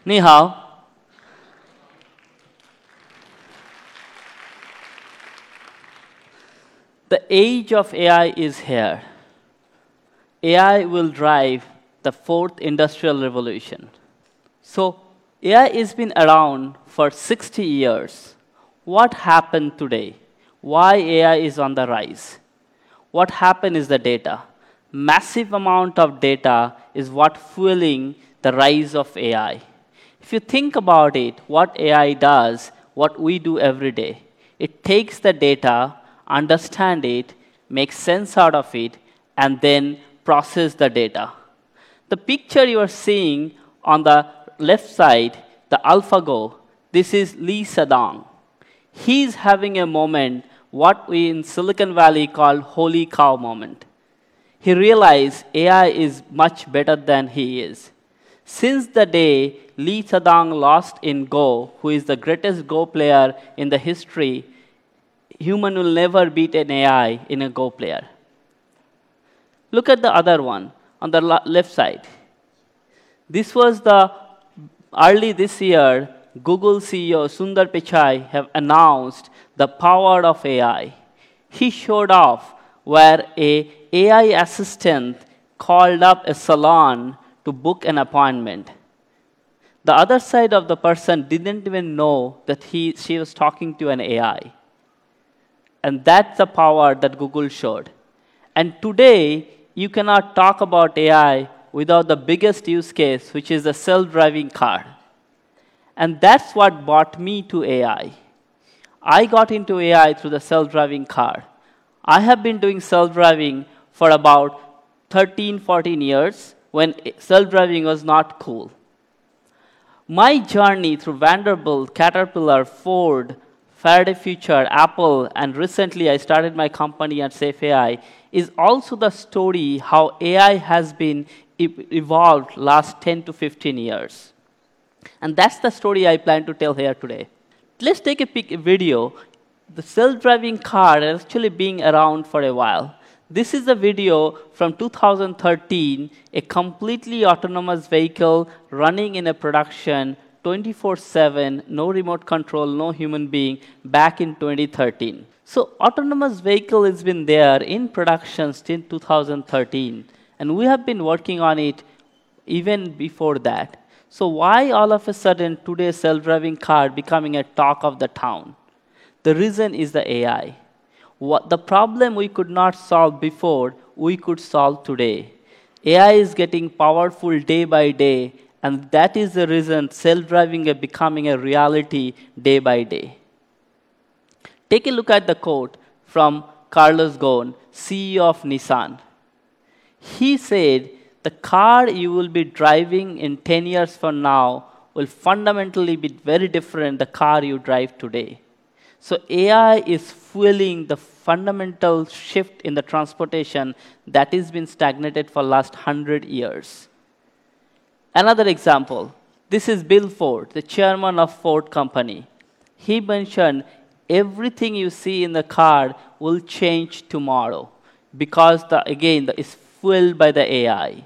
Ni hao. The age of AI is here. AI will drive the fourth industrial revolution. So, AI has been around for 60 years. What happened today? Why AI is on the rise? What happened is the data. Massive amount of data is what fueling the rise of AI. If you think about it, what AI does, what we do every day, it takes the data, understand it, make sense out of it, and then process the data. The picture you are seeing on the left side, the AlphaGo, this is Lee Sedol. He's having a moment, what we in Silicon Valley call holy cow moment. He realized AI is much better than he is. Since the day Lee Sedol lost in Go, who is the greatest Go player in the history, human will never beat an AI in a Go player. Look at the other one on the left side. This was the early this year, Google CEO Sundar Pichai have announced the power of AI. He showed off where a AI assistant called up a salon to book an appointment. The other side of the person didn't even know that she was talking to an AI. And that's the power that Google showed. And today, you cannot talk about AI without the biggest use case, which is the self-driving car. And that's what brought me to AI. I got into AI through the self-driving car. I have been doing self-driving for about 13, 14 years when self-driving was not cool. My journey through Vanderbilt, Caterpillar, Ford, Faraday Future, Apple, and recently I started my company at Safe AI is also the story how AI has been evolved last 10 to 15 years. And that's the story I plan to tell here today. Let's take a video. The self-driving car has actually been around for a while. This is a video from 2013, a completely autonomous vehicle running in a production 24/7, no remote control, no human being, back in 2013. So autonomous vehicle has been there in production since 2013, and we have been working on it even before that. So why all of a sudden today's self-driving car becoming a talk of the town? The reason is the AI. The problem we could not solve before, we could solve today. AI is getting powerful day by day, and that is the reason self-driving is becoming a reality day by day. Take a look at the quote from Carlos Ghosn, CEO of Nissan. He said, the car you will be driving in 10 years from now will fundamentally be very different than the car you drive today. So AI is fueling the fundamental shift in the transportation that has been stagnated for the last 100 years. Another example, this is Bill Ford, the chairman of Ford Company. He mentioned everything you see in the car will change tomorrow because, it's fueled by the AI.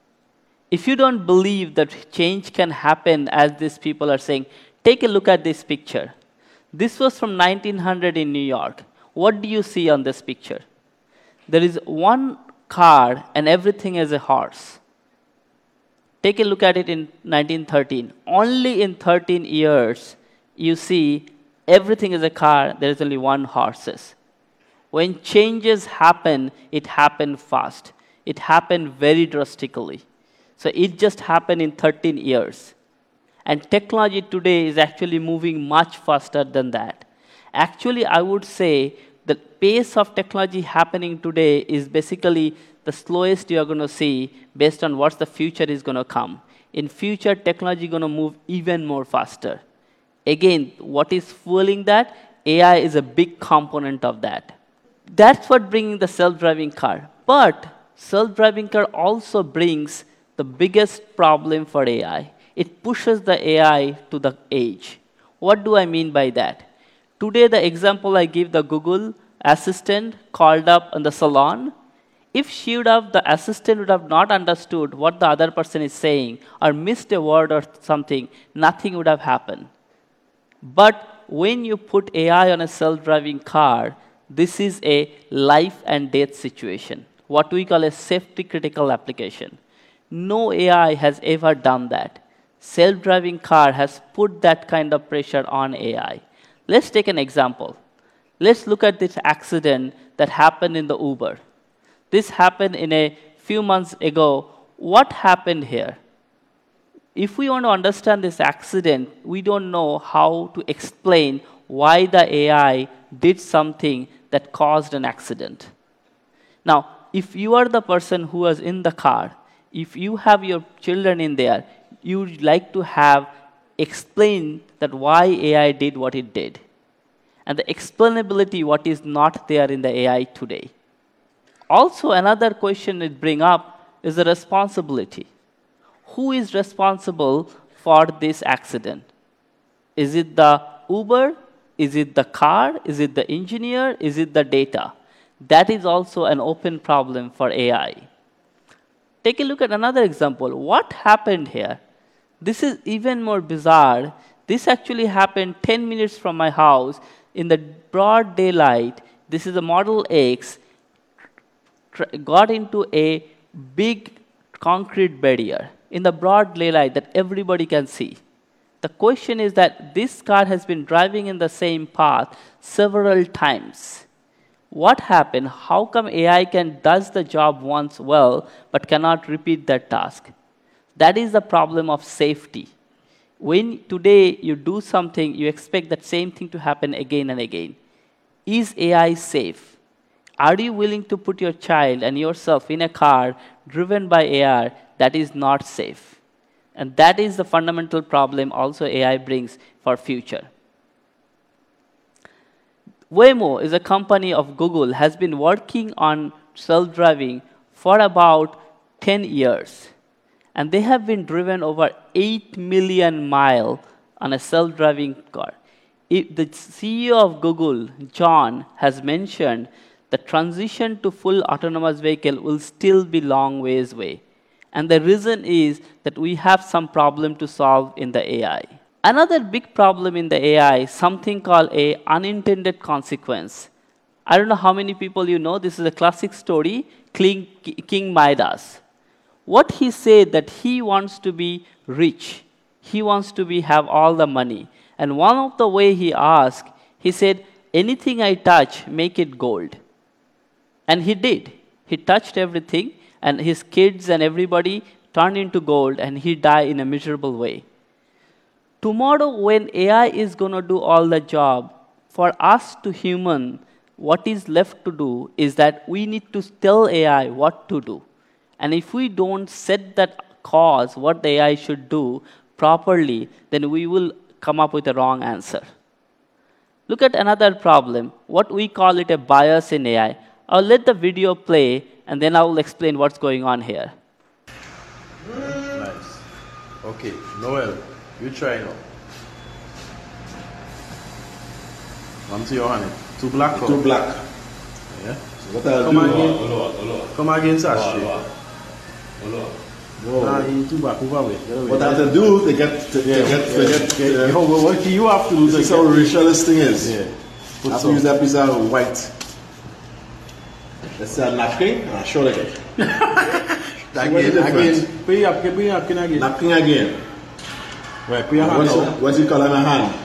If you don't believe that change can happen as these people are saying, take a look at this picture. This was from 1900 in New York. What do you see on this picture? There is one car and everything is a horse. Take a look at it in 1913. Only in 13 years, you see everything is a car, there is only one horse. When changes happen, it happened fast. It happened very drastically. So it just happened in 13 years. And technology today is actually moving much faster than that. Actually, I would say the pace of technology happening today is basically the slowest you're going to see based on what the future is going to come. In future, technology is going to move even more faster. Again, what is fueling that? AI is a big component of that. That's what brings the self-driving car. But self-driving car also brings the biggest problem for AI. It pushes the AI to the edge. What do I mean by that? Today, the example I give, the Google Assistant called up in the salon, If the assistant would have not understood what the other person is saying or missed a word or something, nothing would have happened. But when you put AI on a self-driving car, this is a life and death situation, what we call a safety critical application. No AI has ever done that. Self-driving car has put that kind of pressure on AI. Let's take an example. Let's look at this accident that happened in the Uber. This happened in a few months ago. What happened here? If we want to understand this accident, we don't know how to explain why the AI did something that caused an accident. Now, if you are the person who was in the car, if you have your children in there, you would like to have explain that why AI did what it did. And the explainability what is not there in the AI today. Also, another question it brings up is the responsibility. Who is responsible for this accident? Is it the Uber? Is it the car? Is it the engineer? Is it the data? That is also an open problem for AI. Take a look at another example. What happened here? This is even more bizarre. This actually happened 10 minutes from my house in the broad daylight. This is a Model X, got into a big concrete barrier in the broad daylight that everybody can see. The question is that this car has been driving in the same path several times. What happened? How come AI does the job once well, but cannot repeat that task? That is the problem of safety. When today you do something, you expect that same thing to happen again and again. Is AI safe? Are you willing to put your child and yourself in a car driven by AI that is not safe? And that is the fundamental problem also AI brings for future. Waymo is a company of Google, has been working on self-driving for about 10 years. And they have been driven over 8 million miles on a self-driving car. The CEO of Google, John, has mentioned the transition to full autonomous vehicle will still be long ways away. And the reason is that we have some problem to solve in the AI. Another big problem in the AI, something called a unintended consequence. I don't know how many people you know, this is a classic story, King Midas. What he said that he wants to be rich. He wants to have all the money. And one of the way he asked, he said, anything I touch, make it gold. And he did. He touched everything, and his kids and everybody turned into gold, and he died in a miserable way. Tomorrow, when AI is going to do all the job, for us to human, what is left to do is that we need to tell AI what to do. And if we don't set that cause, what the AI should do properly, then we will come up with a wrong answer. Look at another problem, what we call it a bias in AI. I'll let the video play, and then I will explain what's going on here. Nice. Okay, Noel, you try now. Come to your hand. Two black. Two black. Yeah. So what I'll do? Come again, Sashi. Nah, he too back over with. What I have to do, they get. What you have to do? This is how racial this thing is. Yeah. I have to use that piece of white. Let's say a napkin and a shoulder again. Again. Put your napkin again. Napkin again. Right, put your hand out. What's it called in a hand?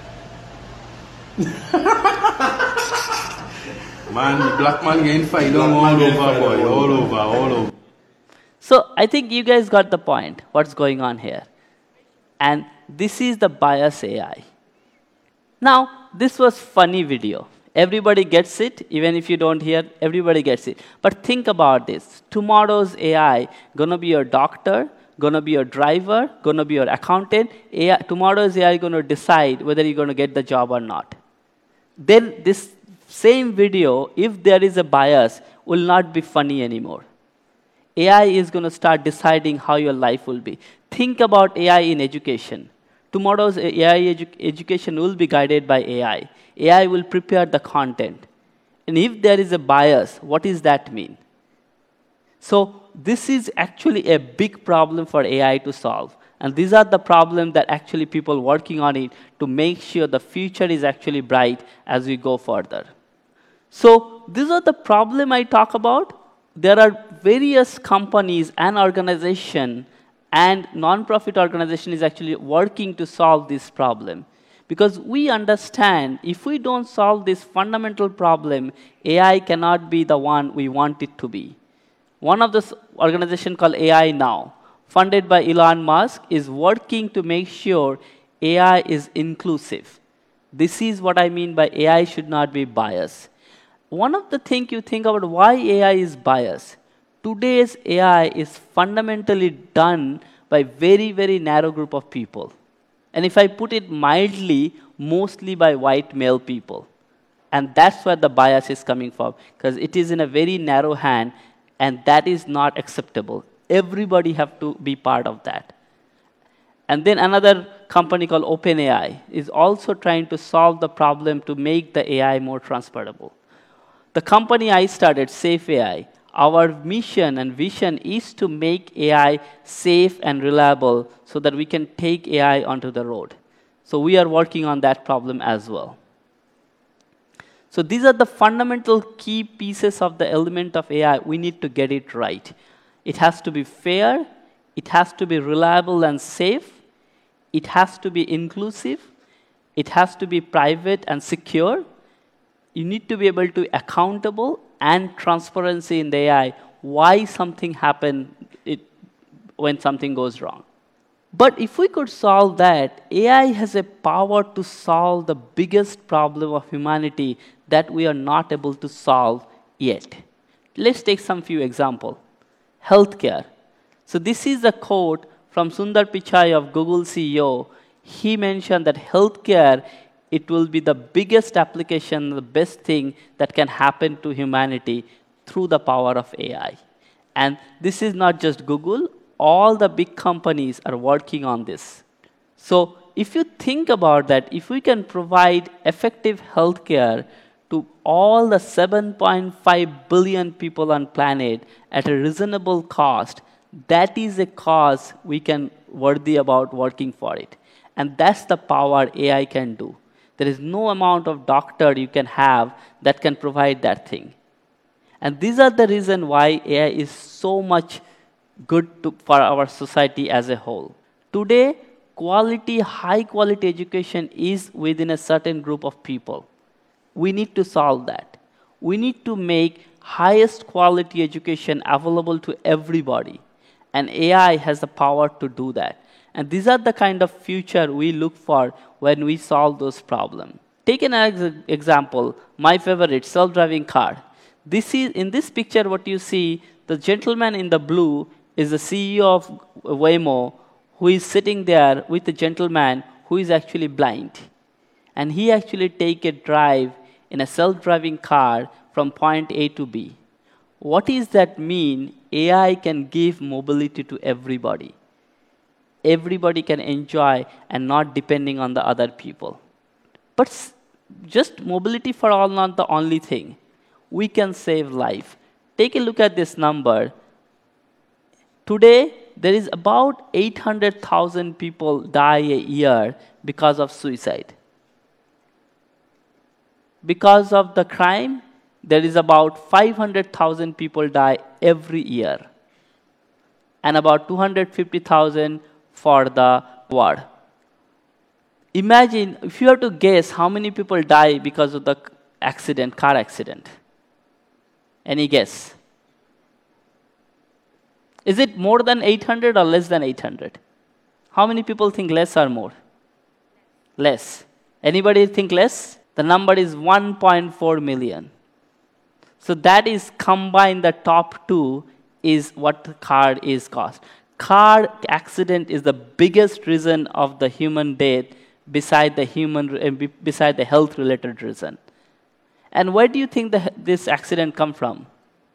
Man, the black man getting fight all over, boy. All over. So I think you guys got the point, what's going on here. And this is the bias AI. Now, this was funny video. Everybody gets it, even if you don't hear, everybody gets it. But think about this. Tomorrow's AI gonna be your doctor, gonna be your driver, gonna be your accountant. Tomorrow's AI gonna decide whether you're gonna get the job or not. Then this same video, if there is a bias, will not be funny anymore. AI is going to start deciding how your life will be. Think about AI in education. Tomorrow's AI education will be guided by AI. AI will prepare the content. And if there is a bias, what does that mean? So this is actually a big problem for AI to solve. And these are the problems that actually people working on it to make sure the future is actually bright as we go further. So these are the problem I talk about. There are various companies and organizations and non-profit organization is actually working to solve this problem. Because we understand if we don't solve this fundamental problem, AI cannot be the one we want it to be. One of this organization called AI Now, funded by Elon Musk, is working to make sure AI is inclusive. This is what I mean by AI should not be biased. One of the things you think about why AI is biased. Today's AI is fundamentally done by very, very narrow group of people. And if I put it mildly, mostly by white male people. And that's where the bias is coming from, because it is in a very narrow hand, and that is not acceptable. Everybody have to be part of that. And then another company called OpenAI is also trying to solve the problem to make the AI more transferable. The company I started, Safe AI, our mission and vision is to make AI safe and reliable so that we can take AI onto the road. So we are working on that problem as well. So these are the fundamental key pieces of the element of AI. We need to get it right. It has to be fair, it has to be reliable and safe, it has to be inclusive, it has to be private and secure. You need to be able to accountable and transparency in the AI, why something happened when something goes wrong. But if we could solve that, AI has a power to solve the biggest problem of humanity that we are not able to solve yet. Let's take some few examples. Healthcare. So this is a quote from Sundar Pichai of Google CEO. He mentioned that healthcare, it will be the biggest application, the best thing that can happen to humanity through the power of AI. And this is not just Google, all the big companies are working on this. So if you think about that, if we can provide effective healthcare to all the 7.5 billion people on planet at a reasonable cost, that is a cause we can worthy about working for it. And that's the power AI can do. There is no amount of doctor you can have that can provide that thing. And these are the reason why AI is so much good for our society as a whole. Today, high quality education is within a certain group of people. We need to solve that. We need to make highest quality education available to everybody. And AI has the power to do that. And these are the kind of future we look for when we solve those problems. Take an example, my favorite, self-driving car. In this picture, what you see, the gentleman in the blue is the CEO of Waymo, who is sitting there with the gentleman who is actually blind. And he actually take a drive in a self-driving car from point A to B. What does that mean? AI can give mobility to everybody. Everybody can enjoy and not depending on the other people. But just mobility for all not the only thing. We can save life. Take a look at this number. Today, there is about 800,000 people die a year because of suicide. Because of the crime, there is about 500,000 people die every year. And about 250,000 for the war. Imagine if you have to guess how many people die because of the accident, car accident. Any guess? Is it more than 800 or less than 800? How many people think less or more? Less. Anybody think less? The number is 1.4 million. So that is combined, the top two is what the car is cost. Car accident is the biggest reason of the human death beside the health-related reason. And where do you think this accident come from?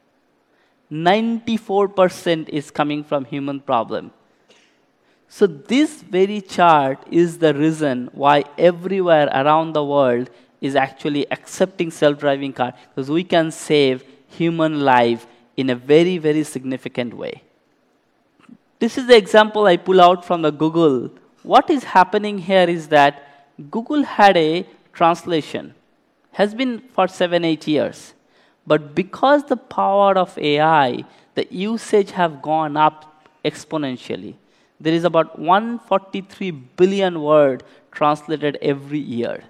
94% is coming from human problem. So this very chart is the reason why everywhere around the world is actually accepting self-driving car, because we can save human life in a very, very significant way. This is the example I pull out from the Google. What is happening here is that Google had a translation, has been for 7, 8 years. But because the power of AI, the usage have gone up exponentially. There is about 143 billion words translated every year.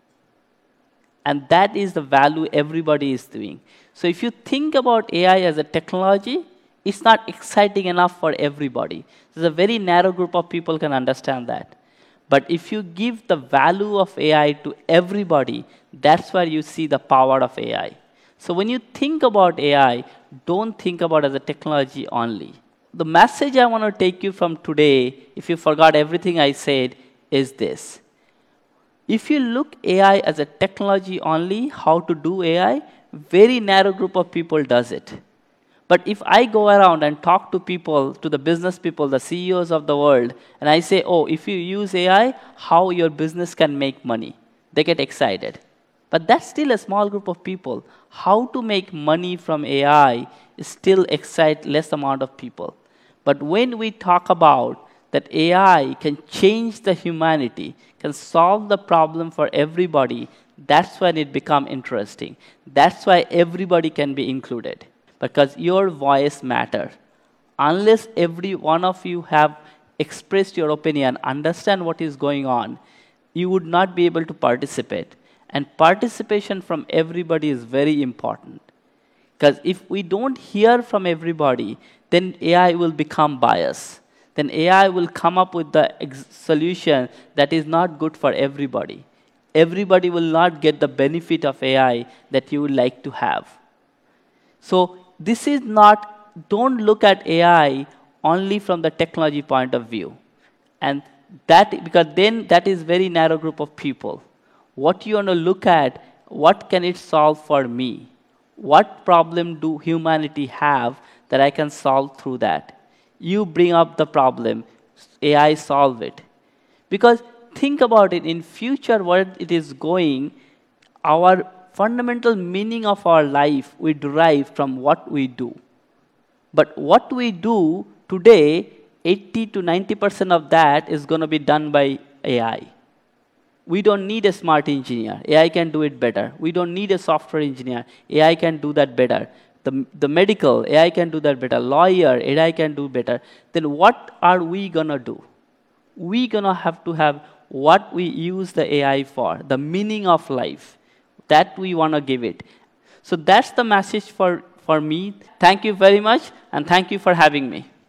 And that is the value everybody is doing. So if you think about AI as a technology, it's not exciting enough for everybody. There's a very narrow group of people can understand that. But if you give the value of AI to everybody, that's where you see the power of AI. So when you think about AI, don't think about it as a technology only. The message I want to take you from today, if you forgot everything I said, is this. If you look AI as a technology only, how to do AI, very narrow group of people does it. But if I go around and talk to people, to the business people, the CEOs of the world, and I say, oh, if you use AI, how your business can make money, they get excited. But that's still a small group of people. How to make money from AI is still excite less amount of people. But when we talk about that AI can change the humanity, can solve the problem for everybody, that's when it becomes interesting. That's why everybody can be included. Because your voice matters. Unless every one of you have expressed your opinion, understand what is going on, you would not be able to participate. And participation from everybody is very important. Because if we don't hear from everybody, then AI will become biased. Then AI will come up with the solution that is not good for everybody. Everybody will not get the benefit of AI that you would like to have. So this is not, don't look at AI only from the technology point of view. And that, because then that is very narrow group of people. What you want to look at, what can it solve for me? What problem do humanity have that I can solve through that? You bring up the problem, AI solve it. Because think about it, in future where it is going, our fundamental meaning of our life we derive from what we do. But what we do today, 80 to 90% of that is going to be done by AI. We don't need a smart engineer. AI can do it better. We don't need a software engineer. AI can do that better. The medical, AI can do that better. Lawyer, AI can do better. Then what are we going to do? We're going to have what we use the AI for, the meaning of life. That we want to give it. So that's the message for me. Thank you very much, and thank you for having me.